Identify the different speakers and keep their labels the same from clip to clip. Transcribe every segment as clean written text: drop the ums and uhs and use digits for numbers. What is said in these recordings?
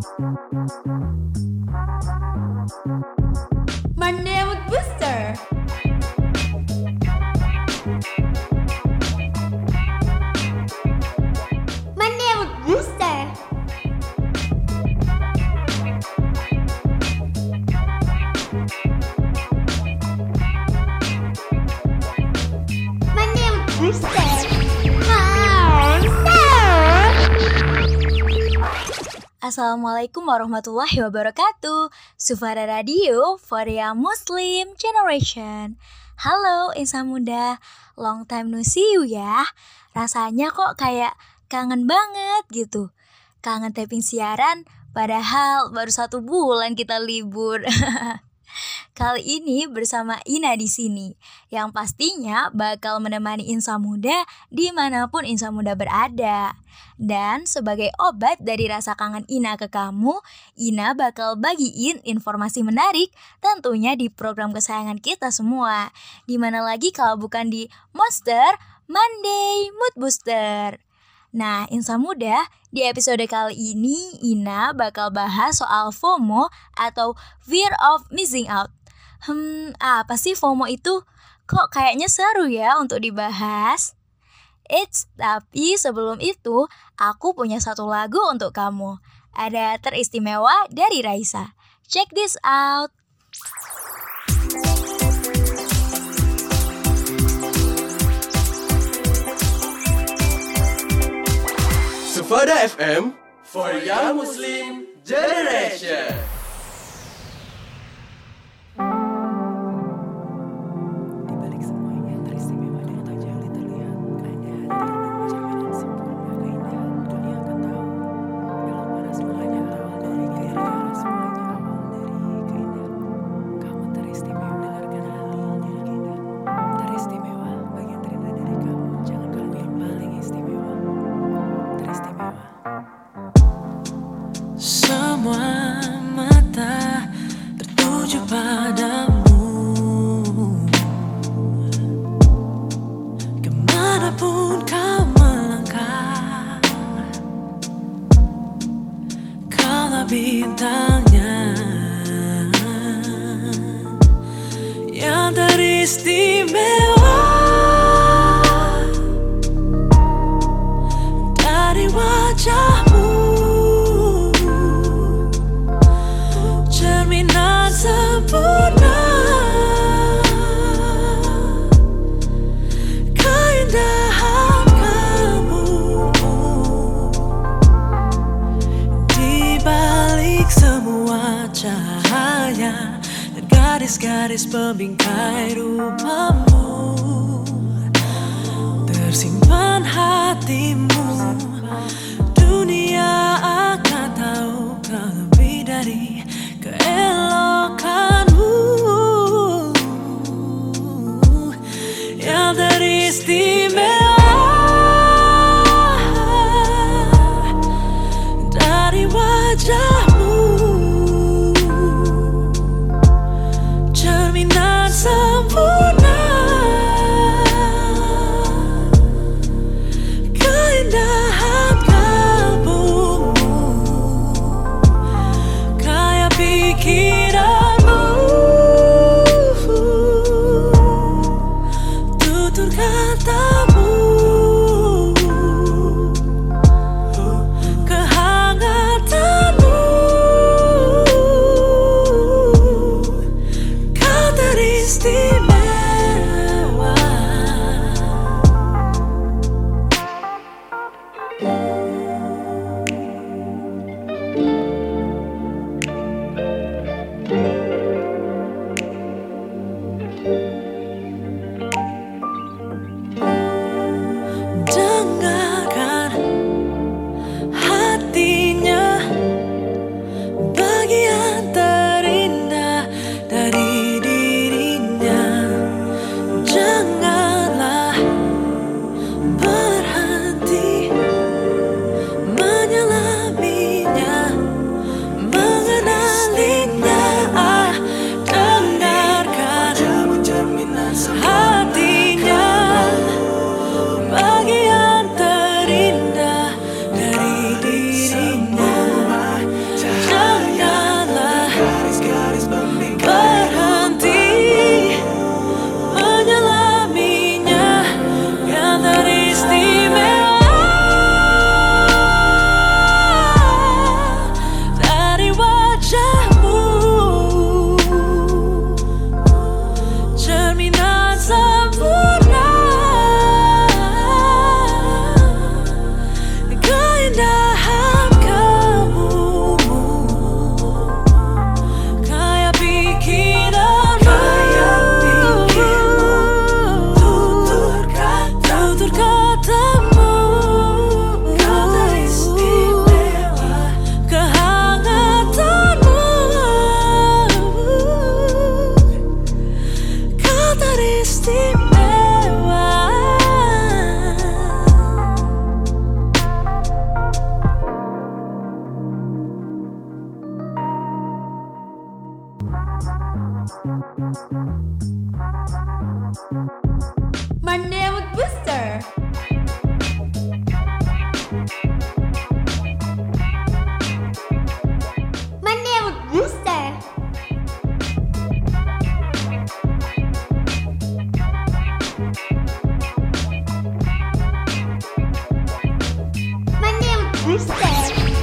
Speaker 1: Monday Mood Booster. Monday Mood Booster. Monday Mood Booster.
Speaker 2: Assalamualaikum warahmatullahi wabarakatuh. Sufara Radio for Young Muslim Generation. Halo insan muda, long time no see you ya. Rasanya kok kayak kangen banget gitu. Kangen taping siaran, padahal baru 1 bulan kita libur. Kali ini bersama Ina di sini, yang pastinya bakal menemani insan muda dimanapun insan muda berada. Dan sebagai obat dari rasa kangen Ina ke kamu, Ina bakal bagiin informasi menarik tentunya di program kesayangan kita semua. Dimana lagi kalau bukan di Monster Monday Mood Booster. Nah, insan muda, di episode kali ini Ina bakal bahas soal FOMO atau Fear of Missing Out. Apa sih FOMO itu? Kok kayaknya seru ya untuk dibahas? Tapi sebelum itu, aku punya satu lagu untuk kamu. Ada teristimewa dari Raisa. Check this out.
Speaker 3: Sufada FM for Young Muslim Generation.
Speaker 4: Di balik semuanya teristimewa dan tak jauh terlihat. Hanya hadir dan mencerminkan sempurna keindahan. Dunia akan tahu dalam panas mulanya awal dari keindahan. Semuanya awal dari keindahan. Kamu teristimewa, dengarkan hatinya keindahan. Teristimewa, bagian terindah dari kamu. Jangan kamu yang paling istimewa. Teristimewa. Semua mata tertuju padamu. Kemanapun kau melangkah, kaulah bintangnya yang teristimewa dari wajahmu. Cerminan sempurna keindahan kamu. Di balik semua cahaya dan garis-garis pembingkai rupamu, tersimpan hatimu. Dunia akan tahu kau lebih dari keelokanmu yang teristimewa dari wajahmu. Cerminan sempurna keindahan
Speaker 1: Monday Mood Booster. Monday Mood Booster. Monday Mood Booster.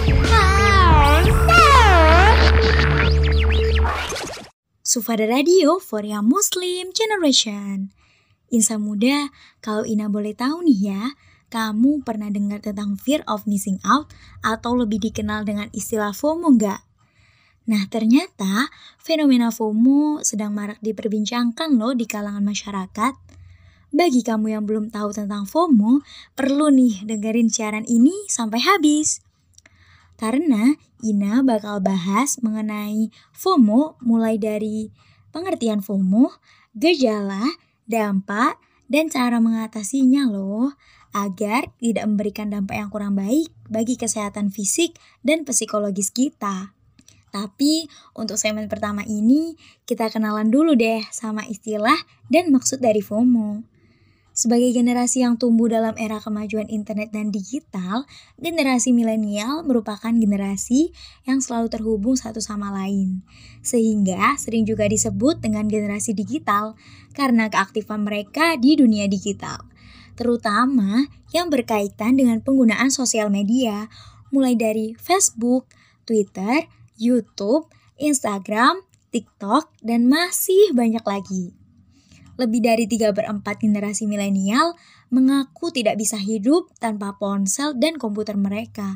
Speaker 2: Sufada Radio for Young Muslim Generation. Insan muda, kalau Ina boleh tahu nih ya, kamu pernah dengar tentang fear of missing out atau lebih dikenal dengan istilah FOMO nggak? Nah ternyata fenomena FOMO sedang marak diperbincangkan loh di kalangan masyarakat. Bagi kamu yang belum tahu tentang FOMO, perlu nih dengerin siaran ini sampai habis. Karena Ina bakal bahas mengenai FOMO mulai dari pengertian FOMO, gejala, dampak, dan cara mengatasinya loh, agar tidak memberikan dampak yang kurang baik bagi kesehatan fisik dan psikologis kita. Tapi untuk segmen pertama ini, kita kenalan dulu deh sama istilah dan maksud dari FOMO. Sebagai generasi yang tumbuh dalam era kemajuan internet dan digital, generasi milenial merupakan generasi yang selalu terhubung satu sama lain. Sehingga sering juga disebut dengan generasi digital karena keaktifan mereka di dunia digital. Terutama yang berkaitan dengan penggunaan sosial media, mulai dari Facebook, Twitter, YouTube, Instagram, TikTok, dan masih banyak lagi. Lebih dari 3/4 generasi milenial mengaku tidak bisa hidup tanpa ponsel dan komputer mereka.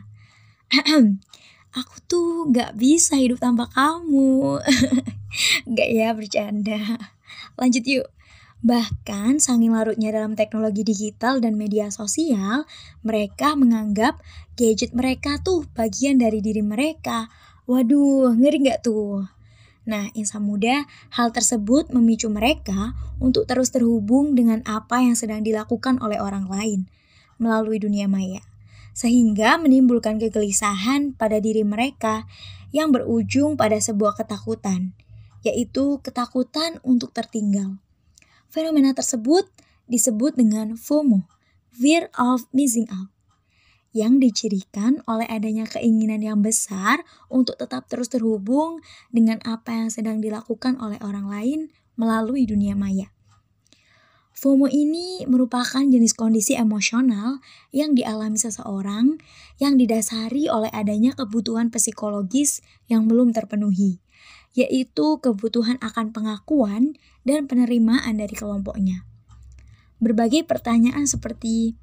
Speaker 2: Aku tuh gak bisa hidup tanpa kamu. Gak ya, bercanda. Lanjut yuk. Bahkan saking larutnya dalam teknologi digital dan media sosial, mereka menganggap gadget mereka tuh bagian dari diri mereka. Waduh, ngeri gak tuh? Nah, insan muda, hal tersebut memicu mereka untuk terus terhubung dengan apa yang sedang dilakukan oleh orang lain melalui dunia maya. Sehingga menimbulkan kegelisahan pada diri mereka yang berujung pada sebuah ketakutan, yaitu ketakutan untuk tertinggal. Fenomena tersebut disebut dengan FOMO, fear of missing out, yang dicirikan oleh adanya keinginan yang besar untuk tetap terus terhubung dengan apa yang sedang dilakukan oleh orang lain melalui dunia maya. FOMO ini merupakan jenis kondisi emosional yang dialami seseorang yang didasari oleh adanya kebutuhan psikologis yang belum terpenuhi, yaitu kebutuhan akan pengakuan dan penerimaan dari kelompoknya. Berbagai pertanyaan seperti,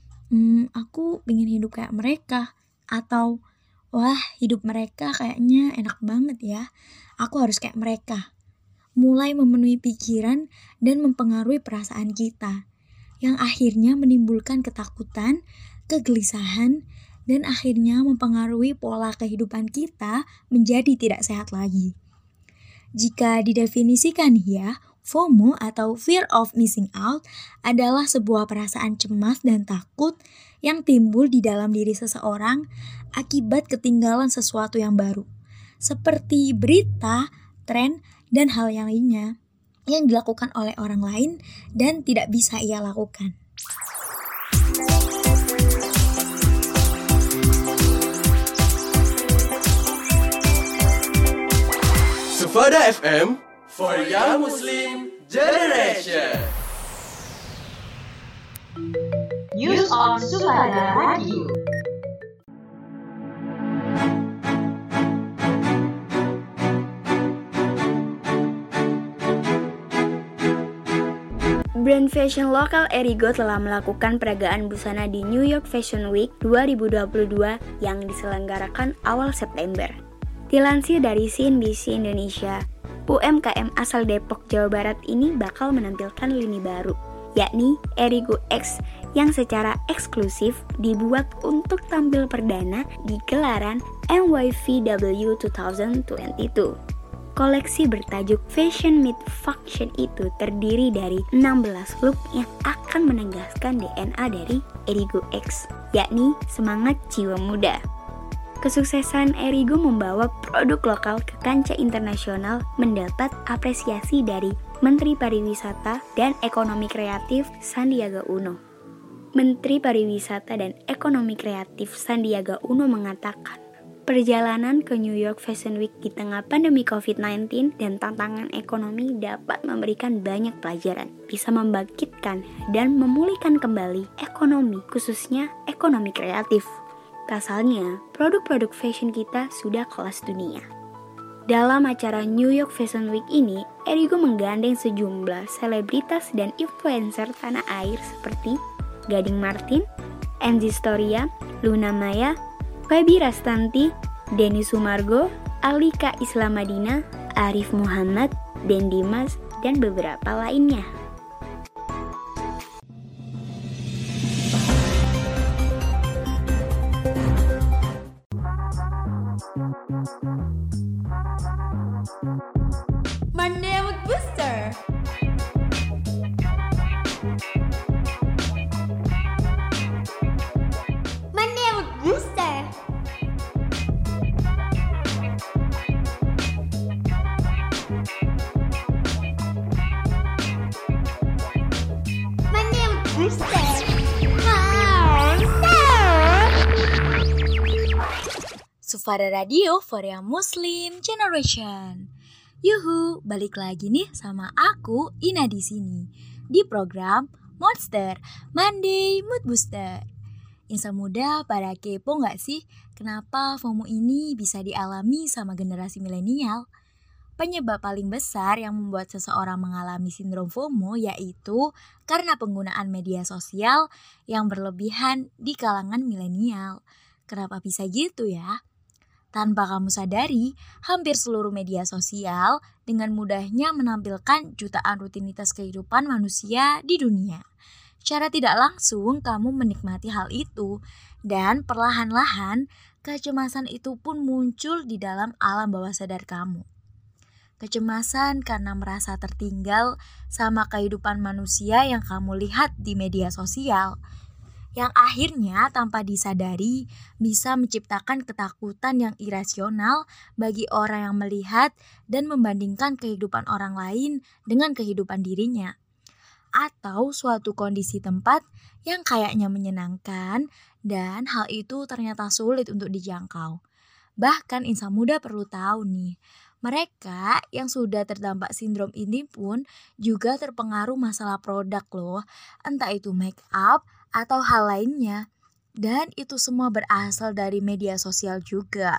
Speaker 2: aku pengen hidup kayak mereka, atau wah hidup mereka kayaknya enak banget ya, aku harus kayak mereka, mulai memenuhi pikiran dan mempengaruhi perasaan kita, yang akhirnya menimbulkan ketakutan, kegelisahan, dan akhirnya mempengaruhi pola kehidupan kita menjadi tidak sehat lagi. Jika didefinisikan ya, FOMO atau fear of missing out adalah sebuah perasaan cemas dan takut yang timbul di dalam diri seseorang akibat ketinggalan sesuatu yang baru, seperti berita, tren, dan hal yang lainnya yang dilakukan oleh orang lain dan tidak bisa ia lakukan.
Speaker 3: Sufada FM for Young Muslim Generation.
Speaker 5: News on Sufada Radio.
Speaker 6: Brand fashion lokal Erigo telah melakukan peragaan busana di New York Fashion Week 2022 yang diselenggarakan awal September. Dilansir dari CNBC Indonesia, UMKM asal Depok, Jawa Barat ini bakal menampilkan lini baru, yakni Erigo X yang secara eksklusif dibuat untuk tampil perdana di gelaran NYVW 2022. Koleksi bertajuk Fashion Meet Function itu terdiri dari 16 look yang akan menegaskan DNA dari Erigo X, yakni semangat jiwa muda. Kesuksesan Erigo membawa produk lokal ke kancah internasional mendapat apresiasi dari Menteri Pariwisata dan Ekonomi Kreatif Sandiaga Uno. Menteri Pariwisata dan Ekonomi Kreatif Sandiaga Uno mengatakan, perjalanan ke New York Fashion Week di tengah pandemi COVID-19 dan tantangan ekonomi dapat memberikan banyak pelajaran, bisa membangkitkan dan memulihkan kembali ekonomi, khususnya ekonomi kreatif. Pasalnya, produk-produk fashion kita sudah kelas dunia. Dalam acara New York Fashion Week ini, Erigo menggandeng sejumlah selebritas dan influencer tanah air seperti Gading Martin, Angie Storia, Luna Maya, Febi Rastanti, Denny Sumargo, Alika Islamadina, Arif Muhammad, Den Dimas, dan beberapa lainnya.
Speaker 1: Monday Mood Booster. Monday Mood Booster. Monday Mood Booster.
Speaker 2: Sufara Radio for Young Muslim Generation. Yuhu, balik lagi nih sama aku Ina di sini di program Monster Monday Mood Booster. Insan muda pada kepo nggak sih kenapa FOMO ini bisa dialami sama generasi milenial? Penyebab paling besar yang membuat seseorang mengalami sindrom FOMO yaitu karena penggunaan media sosial yang berlebihan di kalangan milenial. Kenapa bisa gitu ya? Tanpa kamu sadari, hampir seluruh media sosial dengan mudahnya menampilkan jutaan rutinitas kehidupan manusia di dunia. Secara tidak langsung kamu menikmati hal itu dan perlahan-lahan kecemasan itu pun muncul di dalam alam bawah sadar kamu. Kecemasan karena merasa tertinggal sama kehidupan manusia yang kamu lihat di media sosial, yang akhirnya tanpa disadari bisa menciptakan ketakutan yang irasional bagi orang yang melihat dan membandingkan kehidupan orang lain dengan kehidupan dirinya. Atau suatu kondisi tempat yang kayaknya menyenangkan dan hal itu ternyata sulit untuk dijangkau. Bahkan insan muda perlu tahu nih, mereka yang sudah terdampak sindrom ini pun juga terpengaruh masalah produk loh, entah itu make up atau hal lainnya. Dan itu semua berasal dari media sosial juga.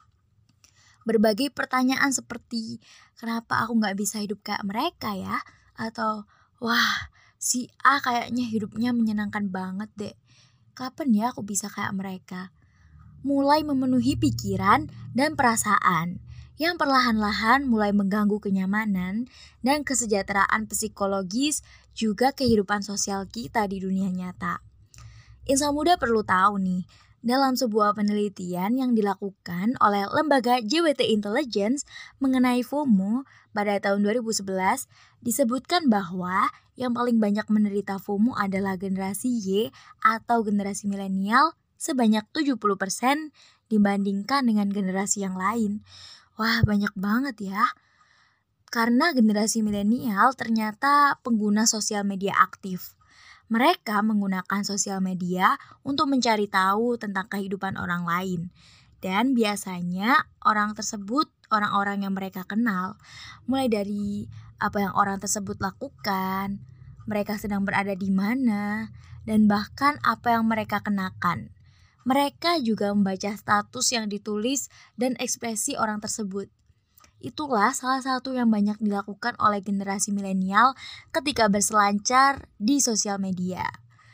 Speaker 2: Berbagai pertanyaan seperti, kenapa aku gak bisa hidup kayak mereka ya? Atau, wah si A kayaknya hidupnya menyenangkan banget deh. Kapan ya aku bisa kayak mereka? Mulai memenuhi pikiran dan perasaan yang perlahan-lahan mulai mengganggu kenyamanan dan kesejahteraan psikologis juga kehidupan sosial kita di dunia nyata. Insan muda perlu tahu nih, dalam sebuah penelitian yang dilakukan oleh lembaga JWT Intelligence mengenai FOMO pada tahun 2011, disebutkan bahwa yang paling banyak menderita FOMO adalah generasi Y atau generasi milenial sebanyak 70% dibandingkan dengan generasi yang lain. Wah, banyak banget ya. Karena generasi milenial ternyata pengguna sosial media aktif. Mereka menggunakan sosial media untuk mencari tahu tentang kehidupan orang lain. Dan biasanya orang tersebut orang-orang yang mereka kenal. Mulai dari apa yang orang tersebut lakukan, mereka sedang berada di mana, dan bahkan apa yang mereka kenakan. Mereka juga membaca status yang ditulis dan ekspresi orang tersebut. Itulah salah satu yang banyak dilakukan oleh generasi milenial ketika berselancar di sosial media.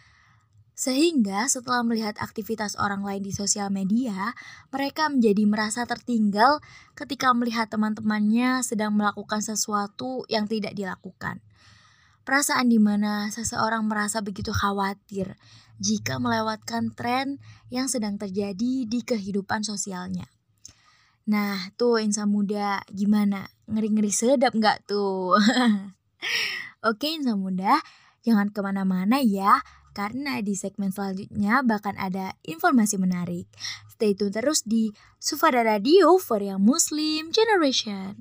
Speaker 2: Sehingga setelah melihat aktivitas orang lain di sosial media, mereka menjadi merasa tertinggal ketika melihat teman-temannya sedang melakukan sesuatu yang tidak dilakukan. Perasaan di mana seseorang merasa begitu khawatir jika melewatkan tren yang sedang terjadi di kehidupan sosialnya. Nah tuh insan muda, gimana? Ngeri-ngeri sedap gak tuh? Oke insan muda, jangan kemana-mana ya. karena di segmen selanjutnya bakal ada informasi menarik. Stay tune terus di Sufada Radio for Young Muslim Generation.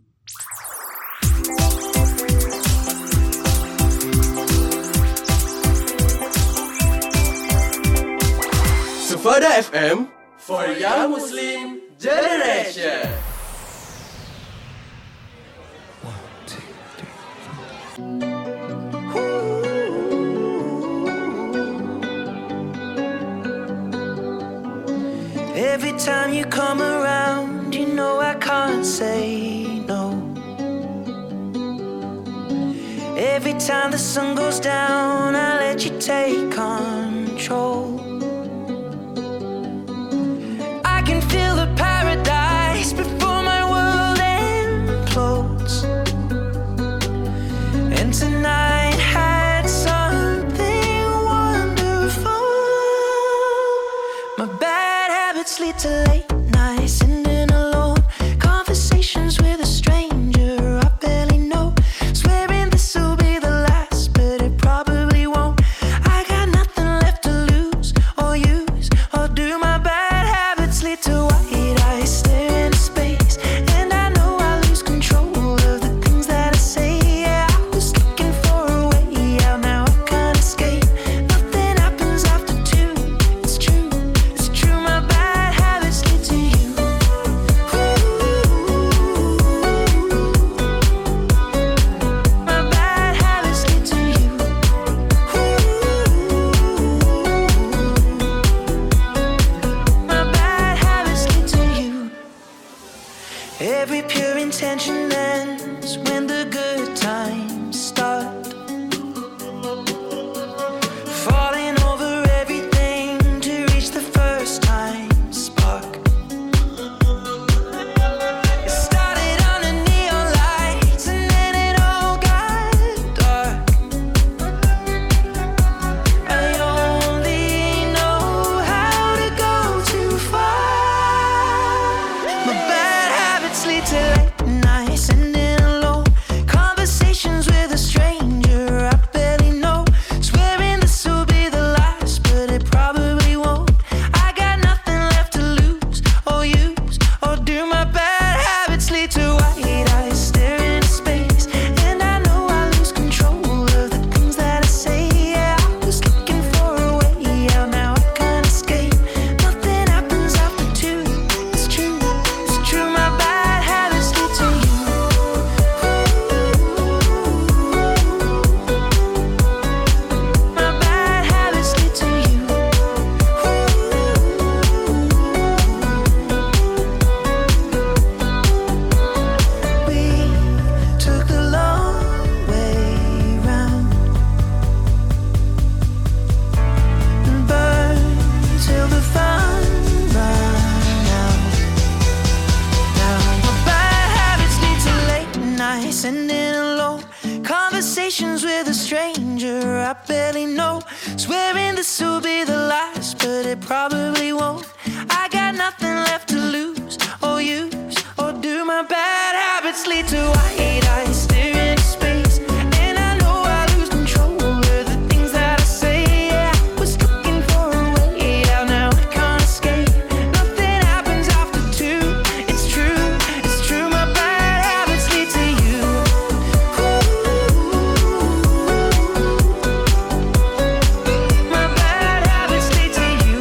Speaker 3: Sufada FM for Young Muslim Generation.
Speaker 7: Every time you come around, you know I can't say no. Every time the sun goes down, I let you take control. I can feel the paradise before my world implodes. And tonight had something wonderful. My bad habits lead to late nights, sitting alone, conversations with a stranger I barely know, swearing this will be the last, but it probably won't. I got nothing left to lose or use or do. My bad habits lead to white eyes staring into space, and I know I lose control of the things that I say. Yeah, I was looking for a way out, now I can't escape. Nothing happens after 2. It's true, it's true. My bad habits lead to you. My bad habits lead to you. My bad habits lead to you. Every pure intention ends when the good times start. Falling over everything to reach the first time spark. It started under neon lights and then it all got dark. I only know how to go too far. My bad habits lead to late nights, sitting alone, conversations with a stranger I barely know, swearing this will be the last, but it probably won't. I got nothing left to lose or use or do. My bad habits lead to white eyes staring into space, and I know I lose control of the things that I say. Yeah, I was looking for a way out, now I can't escape. Nothing happens after 2. It's true, it's true. My bad habits lead to you. My bad habits lead to you. We took the long way round and burned till the fun ran out. Now my bad habits lead to late nights, sitting alone, conversations with a stranger I barely know, swearing this will be the last, but it probably won't. I got nothing left to lose or use or do. My bad habits lead to white eyes staring into space, and I know I lose control of the things that I say. Yeah, I was looking for a way out, now I can't escape. Nothing happens after 2. It's true, it's true. My bad habits lead to you. My bad habits lead to you.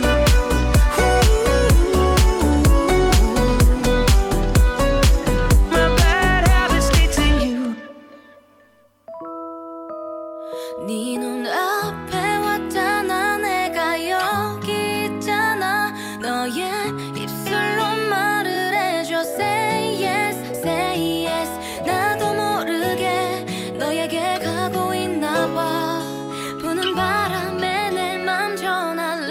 Speaker 7: My bad habits lead to you.
Speaker 8: 네 눈앞에 왔잖아, 내가 여기 있잖아. 너의 입술로 말을 해줘. Say yes, say yes. 나도 모르게 너에게 가고 있나 봐. 부는 바람에 내 맘 전할래.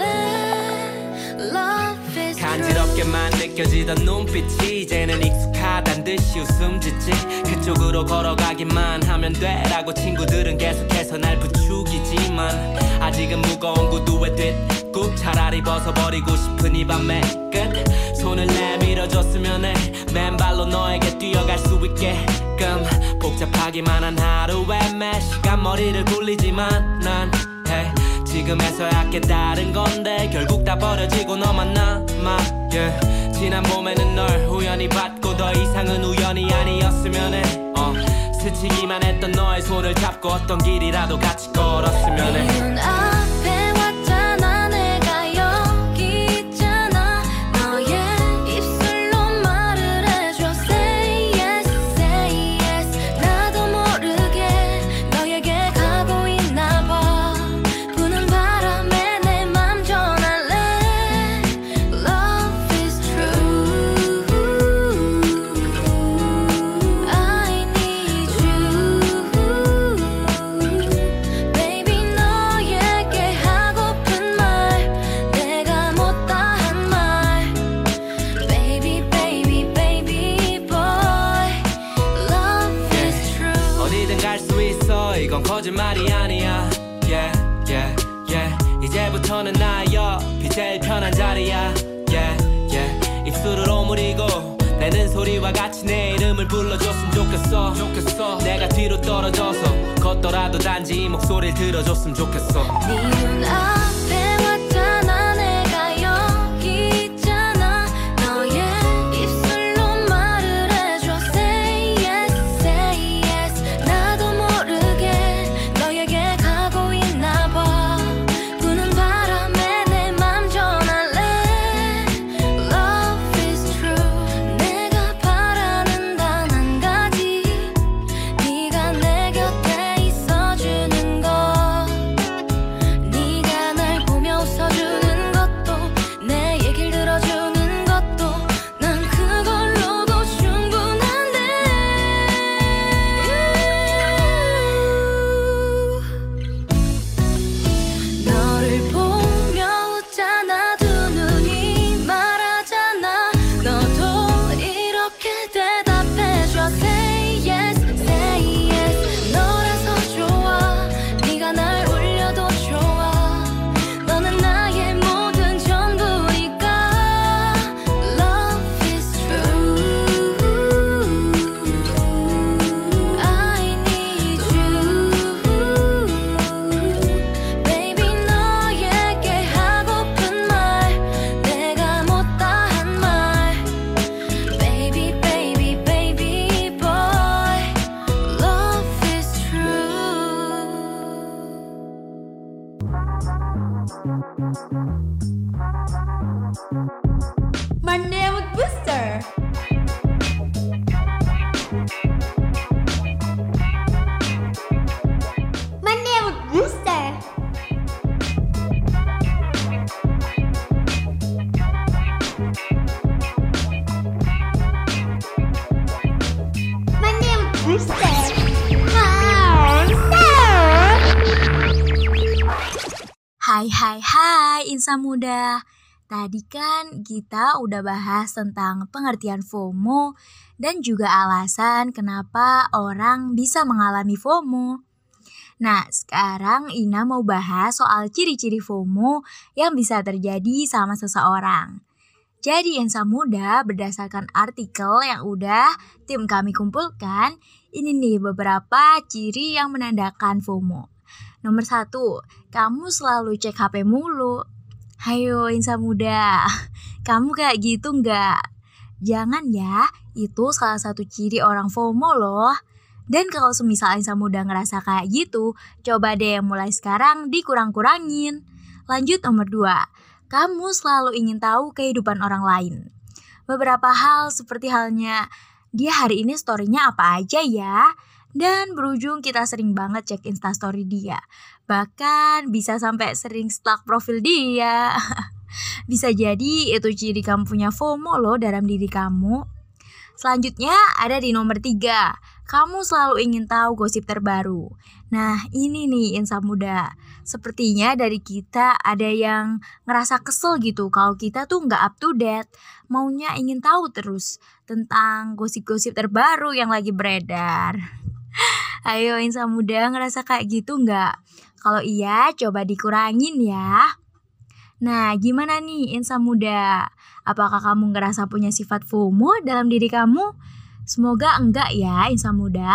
Speaker 8: Love is true.
Speaker 9: 간지럽게만 느껴지던 눈빛이 이제는 익숙하단 듯이 웃음 짓지. 그쪽으로 걸어가기만 하면 돼라고 친구들은 계속해서 날 부추기지만 아직은 무거운 구두에 뒷굽 차라리 벗어버리고 싶은 이 밤의 끝. 손을 내밀어줬으면 해. 맨발로 너에게 뛰어갈 수 있게끔. 복잡하기만 한 하루에 매 시간 머리를 굴리지만 난 hey, 지금에서야 깨달은 건데 결국 다 버려지고 너만 남아 yeah. 지난 봄에는 널 우연히 봤고 더 이상은 우연이 아니었으면 해 스치기만 했던 너의 손을 잡고 어떤 길이라도 같이 걸었으면 해
Speaker 8: 네 눈앞에 왔잖아 내가 여기 있잖아 너의 입술로 말을 해줘 Say yes, say yes 나도 모르게 너에게 가고 있나 봐 부는 바람에 내 맘 전할래 Love is true I need you Baby 너에게 하고픈 말 내가 못다 한 말 Baby baby baby boy Love is true
Speaker 9: 어디든 갈 수 있어 이건 거짓말이 아니야 yeah, yeah, yeah. 이제부터는 나의 옆이 제일 편한 자리야 yeah, yeah. 입술을 오므리고 내는 소리와 같이 내 이름을 불러줬으면 좋겠어 내가 뒤로 떨어져서 걷더라도 단지 이 목소리를 들어줬으면 좋겠어
Speaker 8: 네 눈앞에 왔잖아 내가 여기 있잖아 너의 입술로 말을 해줘 Say yes, say yes 나도 모르게 너에게 가고 있나 봐 부는 바람에 내 맘 전할래 Love is true 내가 바라는 단 한 가지 네가 내 곁에 있어주는 것 네가 날 보며 웃어주는 것도 내 얘길 들어주는 것도 난 그걸로도 충분한데 너를 보며 웃잖아 두 눈이 말하잖아 너도 이렇게 대답해줘 Say yes, say yes 너라서 좋아 네가 날 울려도 좋아 너는 나의 모든 전부니까 Love is true I need you Baby 너에게 하고픈 말 내가 못다 한 말 Baby baby baby boy Love is true
Speaker 1: Monday with Booster. Monday with Booster. Monday with Booster.
Speaker 2: Hai insan muda. Tadi kan kita udah bahas tentang pengertian FOMO dan juga alasan kenapa orang bisa mengalami FOMO. Nah, sekarang Ina mau bahas soal ciri-ciri FOMO yang bisa terjadi sama seseorang. Jadi insan muda, berdasarkan artikel yang udah tim kami kumpulkan, ini nih beberapa ciri yang menandakan FOMO. Nomor 1, kamu selalu cek HP mulu. Hayo insan muda, kamu kayak gitu nggak? Jangan ya, itu salah satu ciri orang FOMO loh. Dan kalau semisal insan muda ngerasa kayak gitu, coba deh mulai sekarang dikurang-kurangin. Lanjut nomor 2, kamu selalu ingin tahu kehidupan orang lain. Beberapa hal seperti halnya, dia hari ini story-nya apa aja ya? Dan berujung kita sering banget cek instastory dia. Bahkan bisa sampai sering stalk profil dia. Bisa jadi itu ciri kamu punya FOMO loh dalam diri kamu. Selanjutnya ada di nomor 3, kamu selalu ingin tahu gosip terbaru. Nah ini nih insan muda, sepertinya dari kita ada yang ngerasa kesel gitu kalau kita tuh gak up to date. Maunya ingin tahu terus tentang gosip-gosip terbaru yang lagi beredar. Ayo insan muda, ngerasa kayak gitu gak? Kalau iya coba dikurangin ya. Nah gimana nih insan muda? Apakah kamu ngerasa punya sifat FOMO dalam diri kamu? Semoga enggak ya insan muda.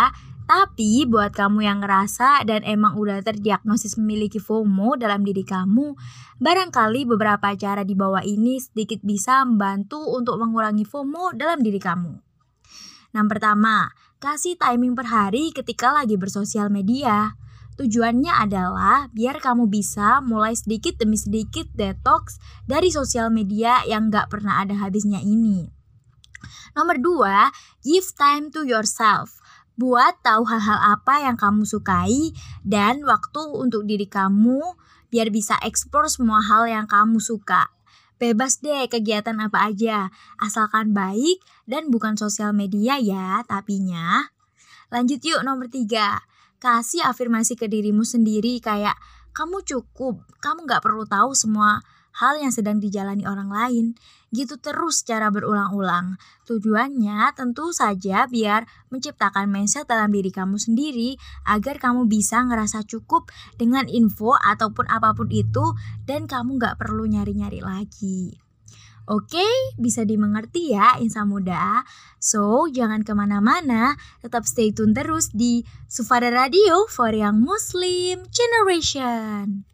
Speaker 2: Tapi buat kamu yang ngerasa dan emang udah terdiagnosis memiliki FOMO dalam diri kamu, barangkali beberapa cara di bawah ini sedikit bisa membantu untuk mengurangi FOMO dalam diri kamu. Yang pertama, kasih timing per hari ketika lagi bersosial media. Tujuannya adalah biar kamu bisa mulai sedikit demi sedikit detox dari sosial media yang gak pernah ada habisnya ini. Nomor 2, give time to yourself. Buat tahu hal-hal apa yang kamu sukai dan waktu untuk diri kamu biar bisa eksplor semua hal yang kamu suka. Bebas deh kegiatan apa aja, asalkan baik dan bukan sosial media ya tapinya. Lanjut yuk nomor 3, kasih afirmasi ke dirimu sendiri kayak kamu cukup, kamu gak perlu tahu semua hal yang sedang dijalani orang lain. Gitu terus secara berulang-ulang. Tujuannya tentu saja biar menciptakan mindset dalam diri kamu sendiri agar kamu bisa ngerasa cukup dengan info ataupun apapun itu dan kamu gak perlu nyari-nyari lagi. Oke, bisa dimengerti ya insan muda. So, jangan kemana-mana, tetap stay tune terus di Sufada Radio for Young Muslim Generation.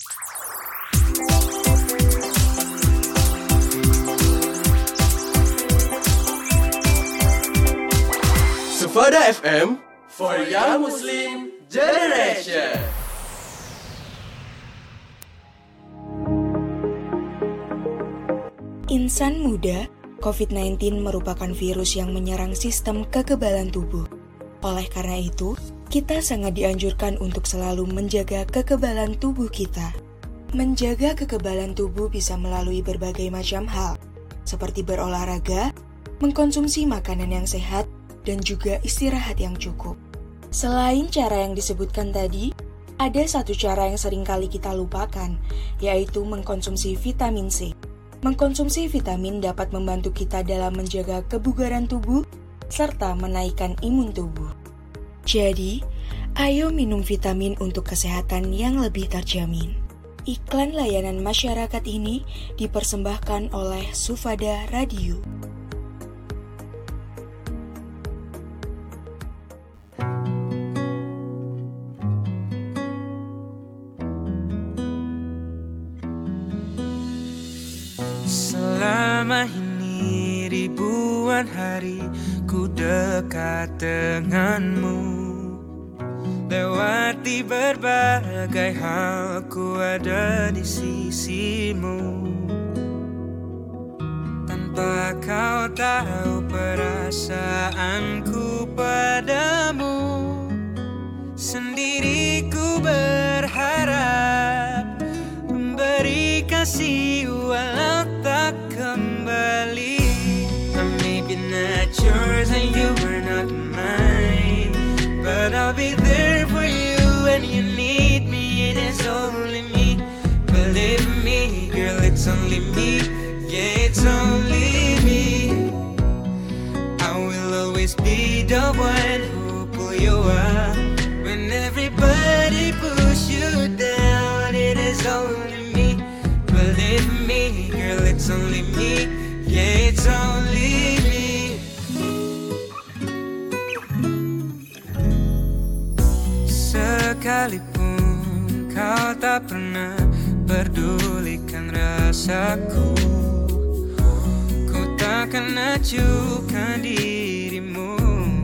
Speaker 3: Sufada FM for Young Muslim Generation.
Speaker 10: Insan muda, COVID-19 merupakan virus yang menyerang sistem kekebalan tubuh. Oleh karena itu, kita sangat dianjurkan untuk selalu menjaga kekebalan tubuh kita. Menjaga kekebalan tubuh bisa melalui berbagai macam hal, seperti berolahraga, mengkonsumsi makanan yang sehat, dan juga istirahat yang cukup. Selain cara yang disebutkan tadi, ada satu cara yang sering kali kita lupakan, yaitu mengkonsumsi vitamin C. Mengkonsumsi vitamin dapat membantu kita dalam menjaga kebugaran tubuh serta menaikkan imun tubuh. Jadi, ayo minum vitamin untuk kesehatan yang lebih terjamin. Iklan layanan masyarakat ini dipersembahkan oleh Sufada Radio.
Speaker 7: Selama ini ribuan hari ku dekat denganmu, lewati berbagai hal ku ada di sisimu. Tanpa kau tahu perasaanku padamu, sendiri ku berharap memberi kasih walau tak kembali. I may be not yours and you are not mine, but I'll be there for you when you need me. It is only me, believe me, girl, it's only me. Yeah, it's only me. I will always be the one who pull you up when everybody push you down. It is only me, believe me, girl, it's only me. Yeah, it's only me. Sekalipun kau tak pernah pedulikan rasaku, ku takkan acuhkan dirimu.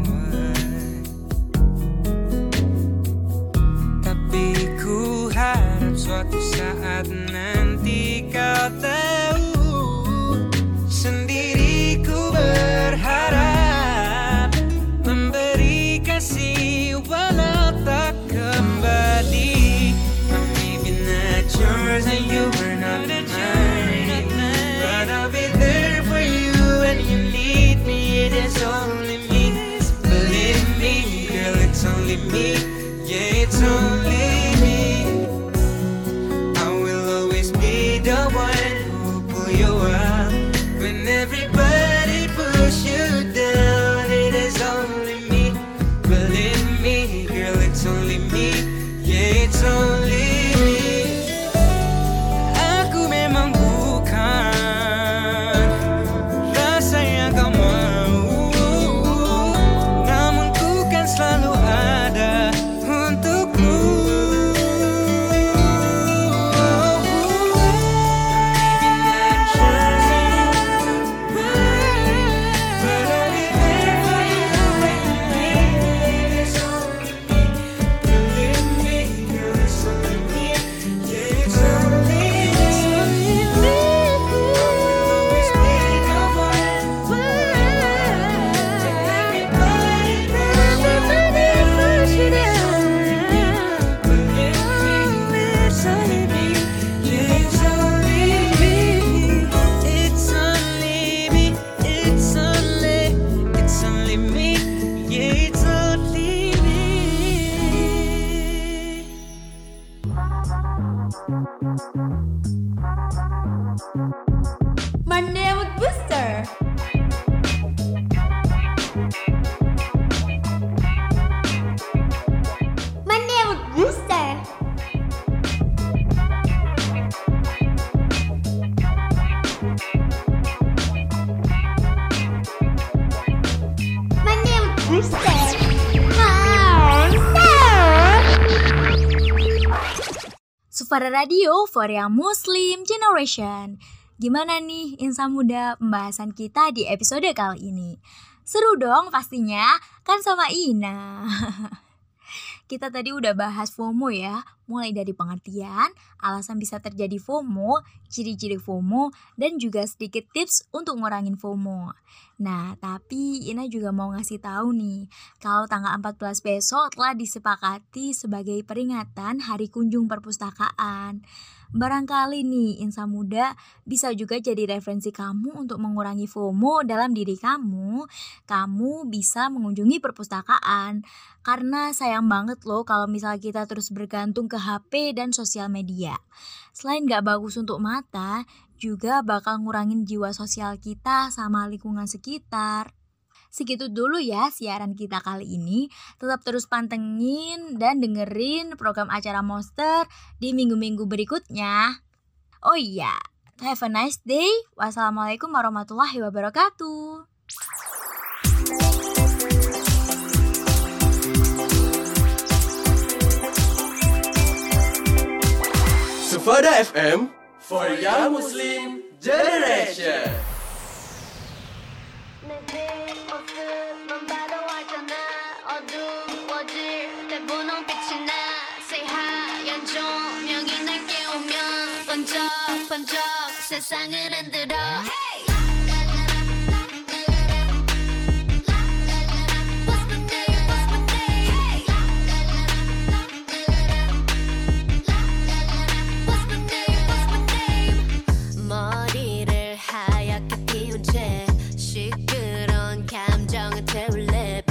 Speaker 7: Tapi ku harap suatu saat nanti kau tahu, sendiri ku berharap memberi kasih walau tak kembali. I may be not yours and you are not mine, but I'll be there for you when you need me. It is only me, believe me, girl, it's only me. Yeah, it's only me. I will always be the one who pull you up when everybody push you down. It is only me, believe me, girl, it's only me. Yeah, it's only me. Aku memang bukan rasa yang kau mau, namun ku kan selalu ada
Speaker 1: booster.
Speaker 2: Sufara Radio for Young Muslim Generation. Gimana nih Insan Muda pembahasan kita di episode kali ini? Seru dong pastinya, kan sama Ina. Kita tadi udah bahas FOMO ya, mulai dari pengertian, alasan bisa terjadi FOMO, ciri-ciri FOMO, dan juga sedikit tips untuk ngurangin FOMO. Nah, tapi Ina juga mau ngasih tahu nih, kalau tanggal 14 besok telah disepakati sebagai peringatan Hari Kunjung Perpustakaan. Barangkali nih insan muda bisa juga jadi referensi kamu untuk mengurangi FOMO dalam diri kamu. Kamu bisa mengunjungi perpustakaan. Karena sayang banget loh kalau misalnya kita terus bergantung ke HP dan sosial media. Selain gak bagus untuk mata, juga bakal ngurangin jiwa sosial kita sama lingkungan sekitar. Segitu dulu ya siaran kita kali ini. Tetap terus pantengin dan dengerin program acara Monster di minggu-minggu berikutnya. Oh iya, have a nice day. Wassalamualaikum warahmatullahi wabarakatuh.
Speaker 3: Sufada FM for Young Muslim Generation.
Speaker 8: 번쩍 세상을 흔들어 머리를 하얗게 피운 채 시끄러운 감정을 태울래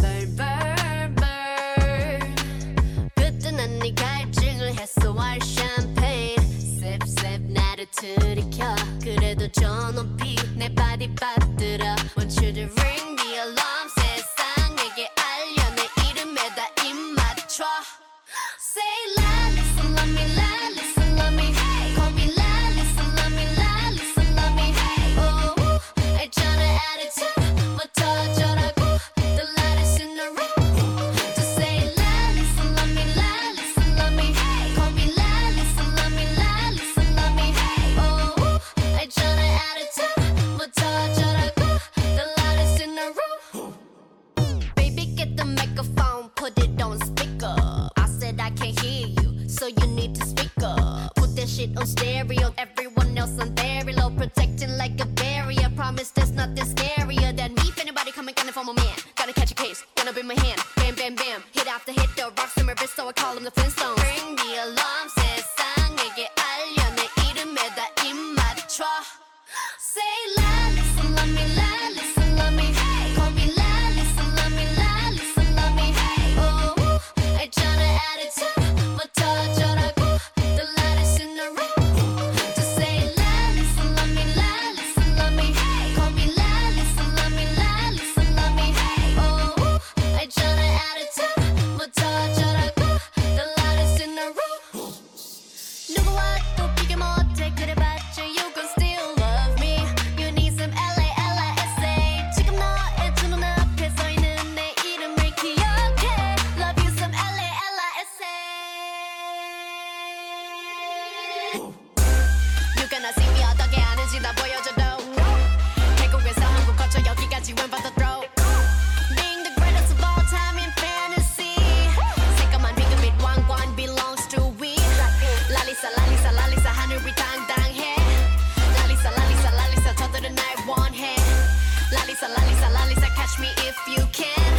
Speaker 8: burn 그때는 네 갈증을 해소할 샴페인 나를 들이켜 그래도 저 높이 내 발이 빠뜨려 Want you to ring the alarm 세상에게 알려 내 이름에다 입 맞춰 Say la, listen, love me, la, listen, love me Call me la, listen, love me, la, listen, love me Oh, 있잖아 attitude부터 어쩌라고 The lightest in the room Just say la, listen, love me, la, listen, love me Call me la, listen, love me, la, listen, love me Oh, 있잖아 attitude부터 어쩌라고 The lightest in the room Baby, get the microphone, put it on speaker I said I can't hear you, so you need to speak up Put that shit on stereo, everyone else on very low Protecting like a barrier, promise there's nothing scarier than me If anybody coming for my man, gotta catch a case, gonna be my hand Bam, bam, bam, hit after hit, the rocks in my wrist So I call them the Flintstones Ring the alarm, 세상에게 알려 내 이름에다 입 맞춰 Say la, listen, love me, la, listen, love me Call me la, listen, love me, la, listen, love me Oh, 있잖아 attitude부터 어쩌라고 The lightest in the room Just say la, listen, love me, la, listen, love me Call me la, listen, love me, la, listen, love me Oh, 있잖아 attitude부터 어쩌라고 The lightest in the room 누구와 또 비교 못해 그래봤자 you gon' still love me You need some LALISA 지금 너의 두 눈앞에 서있는 내 이름을 기억해 Love you some LALISA You gonna see me 어떻게 하는지 다 보여줘도 태국에서 한국 거쳐 여기까지 when but the throw Being the greatest of all time in fantasy 새까만 비그빛 왕관 belongs to we 랄리사 랄리사 랄리사 하늘이 당당해 랄리사 랄리사 랄리사 저들은 날 원해 랄리사 랄리사 랄리사 catch me if you can